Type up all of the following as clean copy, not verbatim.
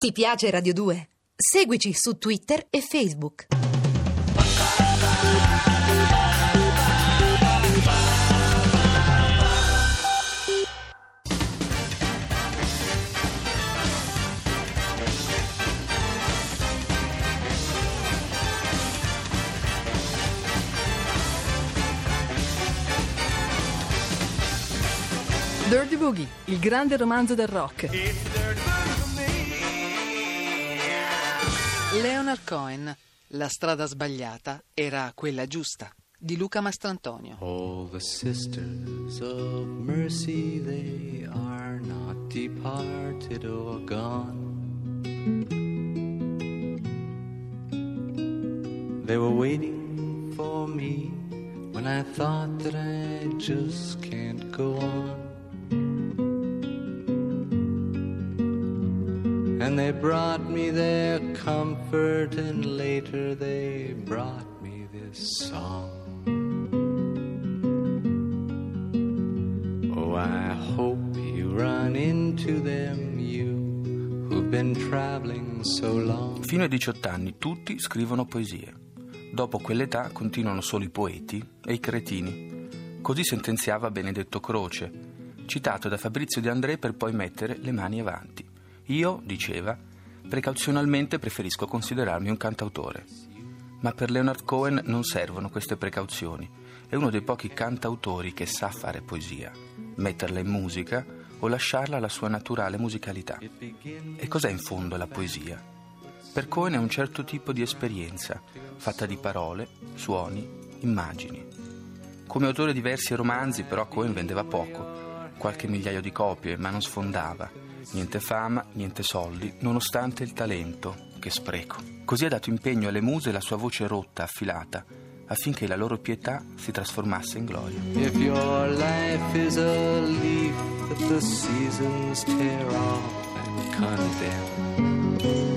Ti piace Radio 2? Seguici su Twitter e Facebook. Dirty Boogie, il grande romanzo del rock. Leonard Cohen, La strada sbagliata era quella giusta, di Luca Mastrantonio. All the sisters of mercy, they are not departed or gone. They were waiting for me when I thought that I just can't go on. And they brought me their comfort, and later they brought me this song. Oh, I hope you run into them, you who've been traveling so long. Fino ai 18 anni tutti scrivono poesie. Dopo quell'età continuano solo i poeti e i cretini. Così sentenziava Benedetto Croce, citato da Fabrizio De André per poi mettere le mani avanti. Io, diceva, precauzionalmente preferisco considerarmi un cantautore. Ma per Leonard Cohen non servono queste precauzioni. È uno dei pochi cantautori che sa fare poesia, metterla in musica o lasciarla alla sua naturale musicalità. E cos'è in fondo la poesia? Per Cohen è un certo tipo di esperienza, fatta di parole, suoni, immagini. Come autore di versi e romanzi, però, Cohen vendeva poco, qualche migliaio di copie, ma non sfondava. Niente fama, niente soldi, nonostante il talento. Che spreco. Così ha dato impegno alle muse la sua voce rotta, affilata, affinché la loro pietà si trasformasse in gloria. If your life is a leaf that the seasons tear off and condemn,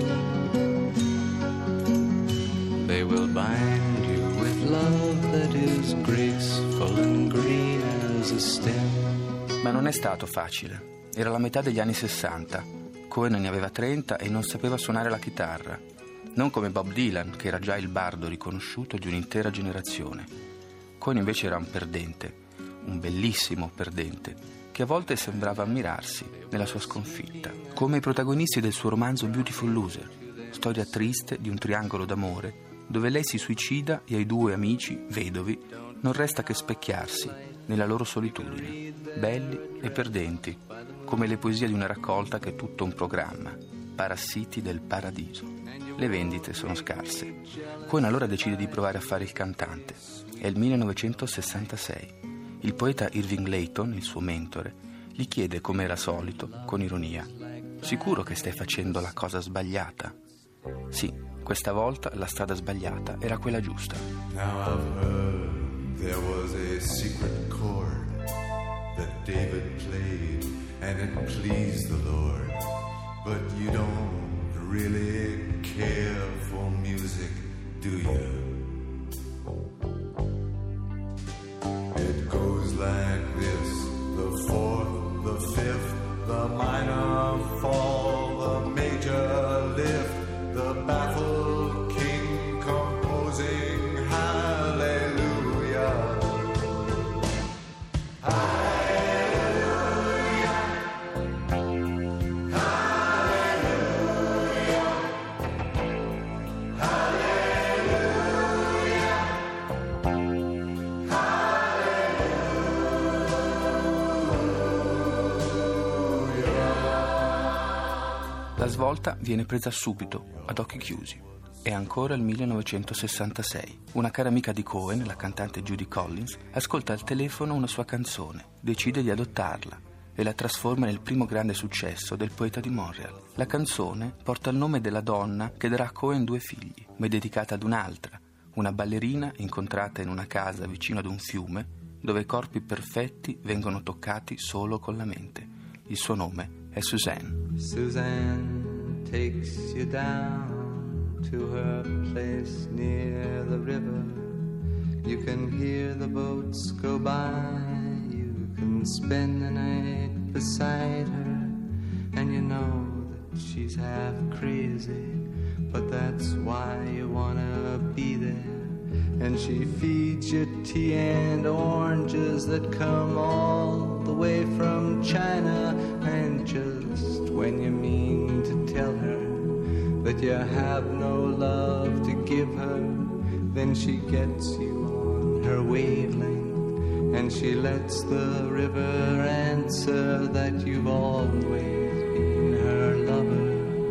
they will bind you with love that is graceful and green as a stem. Ma non è stato facile. Era la metà degli anni 60. Cohen ne aveva 30 e non sapeva suonare la chitarra. Non come Bob Dylan, che era già il bardo riconosciuto di un'intera generazione. Cohen invece era un perdente, un bellissimo perdente, che a volte sembrava ammirarsi nella sua sconfitta. Come i protagonisti del suo romanzo Beautiful Loser, storia triste di un triangolo d'amore, dove lei si suicida e ai due amici, vedovi, non resta che specchiarsi nella loro solitudine, belli e perdenti, come le poesie di una raccolta che è tutto un programma, Parassiti del paradiso. Le vendite sono scarse. Cohen allora decide di provare a fare il cantante. È il 1966. Il poeta Irving Layton, il suo mentore, gli chiede, come era solito, con ironia: «Sicuro che stai facendo la cosa sbagliata?» Sì, questa volta la strada sbagliata era quella giusta. Now I've heard there was a secret chord that David played and it pleased the Lord. But you don't really care for music, do you? It goes like this: the fourth, the fifth, the minor fall, the major lift, the baffled king composing hallelujah. La svolta viene presa subito, ad occhi chiusi. È ancora il 1966. Una cara amica di Cohen, la cantante Judy Collins, ascolta al telefono una sua canzone, decide di adottarla e la trasforma nel primo grande successo del poeta di Montreal. La canzone porta il nome della donna che darà a Cohen 2 figli, ma è dedicata ad un'altra, una ballerina incontrata in una casa vicino ad un fiume, dove i corpi perfetti vengono toccati solo con la mente. Il suo nome è Suzanne. Suzanne takes you down to her place near the river. You can hear the boats go by. You can spend the night beside her. And you know that she's half crazy, but that's why you wanna be there. And she feeds you tea and oranges that come all the way from China. And just when you mean to tell her that you have no love to give her, then she gets you on her wavelength, and she lets the river answer that you've always been her lover.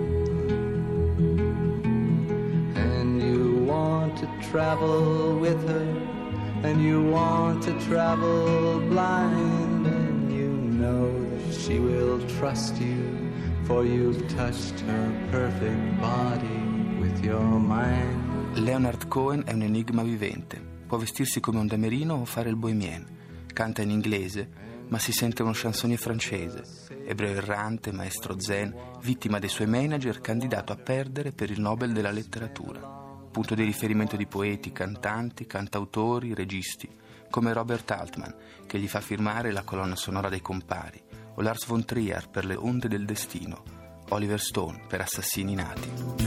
And you want to travel with her, and you want to travel blind, and you know that she will trust you, for you've touched her perfect body with your mind. Leonard Cohen è un enigma vivente. Può vestirsi come un damerino o fare il bohemien. Canta in inglese, ma si sente uno chansonnier francese. Ebreo errante, maestro zen, vittima dei suoi manager, candidato a perdere per il Nobel della letteratura. Punto di riferimento di poeti, cantanti, cantautori, registi, come Robert Altman, che gli fa firmare la colonna sonora dei Compari, o Lars von Trier per Le onde del destino, Oliver Stone per Assassini nati.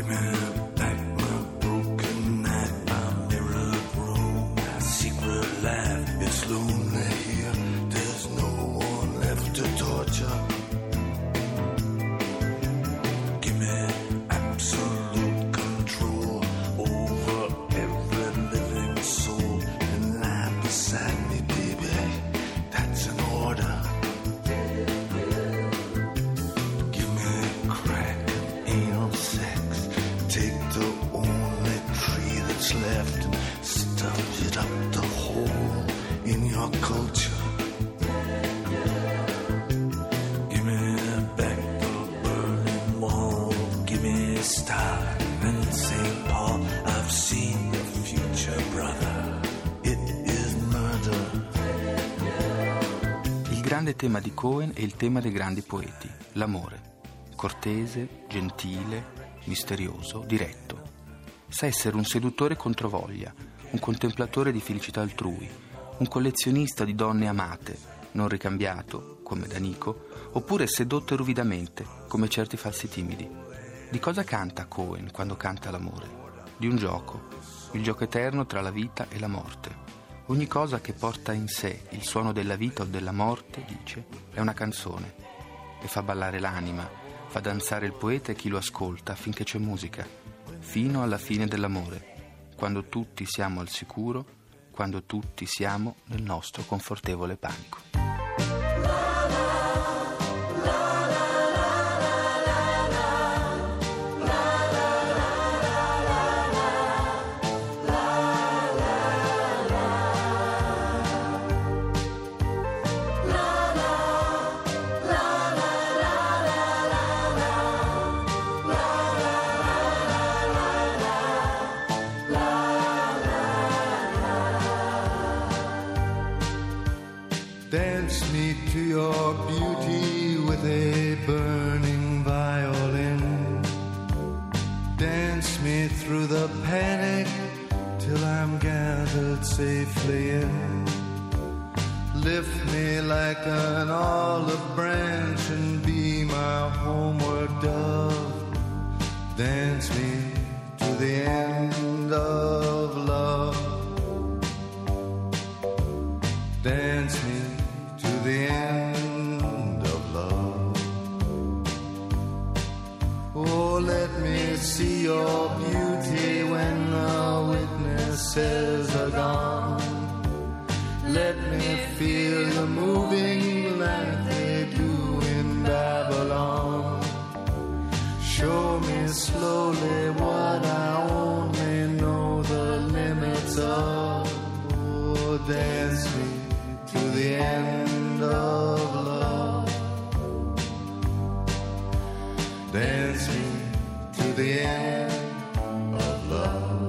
Il grande tema di Cohen è il tema dei grandi poeti, l'amore. Cortese, gentile, misterioso, diretto. Sa essere un seduttore controvoglia, un contemplatore di felicità altrui, un collezionista di donne amate, non ricambiato, come D'Anico, oppure sedotte ruvidamente, come certi falsi timidi. Di cosa canta Cohen quando canta l'amore? Di un gioco, il gioco eterno tra la vita e la morte. Ogni cosa che porta in sé il suono della vita o della morte, dice, è una canzone e fa ballare l'anima, fa danzare il poeta e chi lo ascolta finché c'è musica, fino alla fine dell'amore, quando tutti siamo al sicuro, quando tutti siamo nel nostro confortevole panico. Dance me to your beauty with a burning violin. Dance me through the panic till I'm gathered safely in. Lift me like an olive branch and be my homeward dove. Dance me to the end of love. Dance me to the end of love. Oh, let me see your beauty when the witnesses are gone. Let me feel you moving like they do in Babylon. Show me slowly what I only know the limits of. Oh, dance me to the end of love. Dance me to the end of love.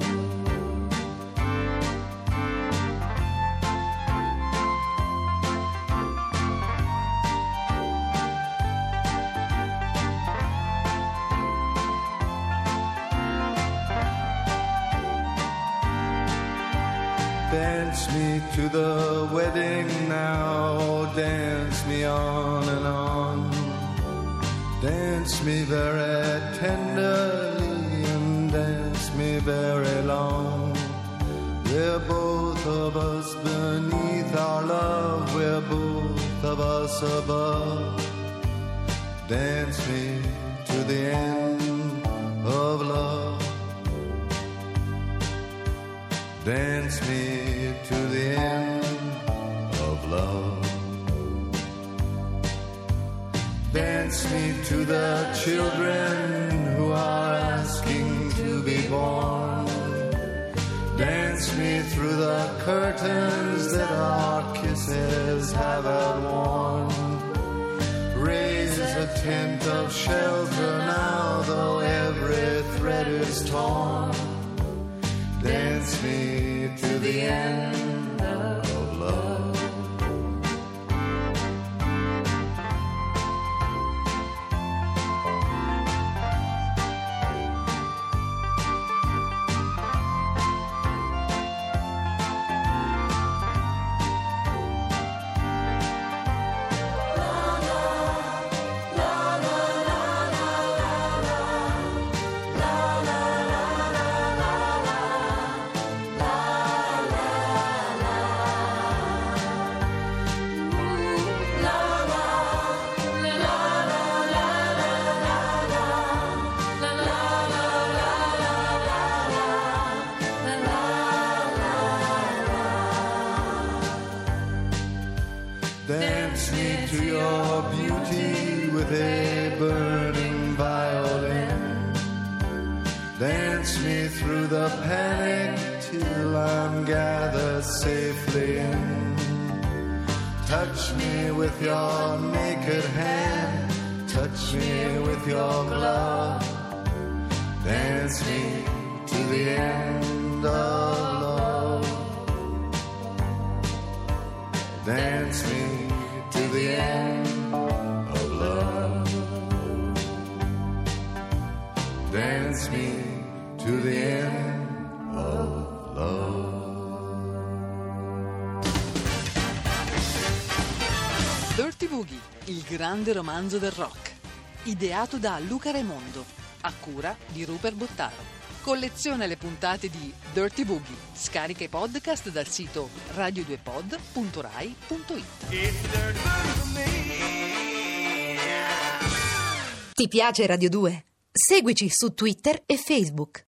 Dance me to the wedding now, dance me on and on. Dance me very tenderly and dance me very long. We're both of us beneath our love, we're both of us above. Dance me to the end of love. Dance me to the end of love. Dance me to the children who are asking to be born. Dance me through the curtains that our kisses have outworn. Raise a tent of shelter now, though every thread is torn. Dance me to the end of love. Dance me to your beauty with a burning violin. Dance me through the panic till I'm gathered safely in. Touch me with your naked hand, touch me with your glove. Dance me to the end of love. Dance me to the end of love. Dance me to the end of love. Dirty Boogie, il grande romanzo del rock. Ideato da Luca Raimondo, a cura di Rupert Bottaro. Colleziona le puntate di Dirty Boogie. Scarica i podcast dal sito radio2pod.rai.it. Ti piace Radio 2? Seguici su Twitter e Facebook.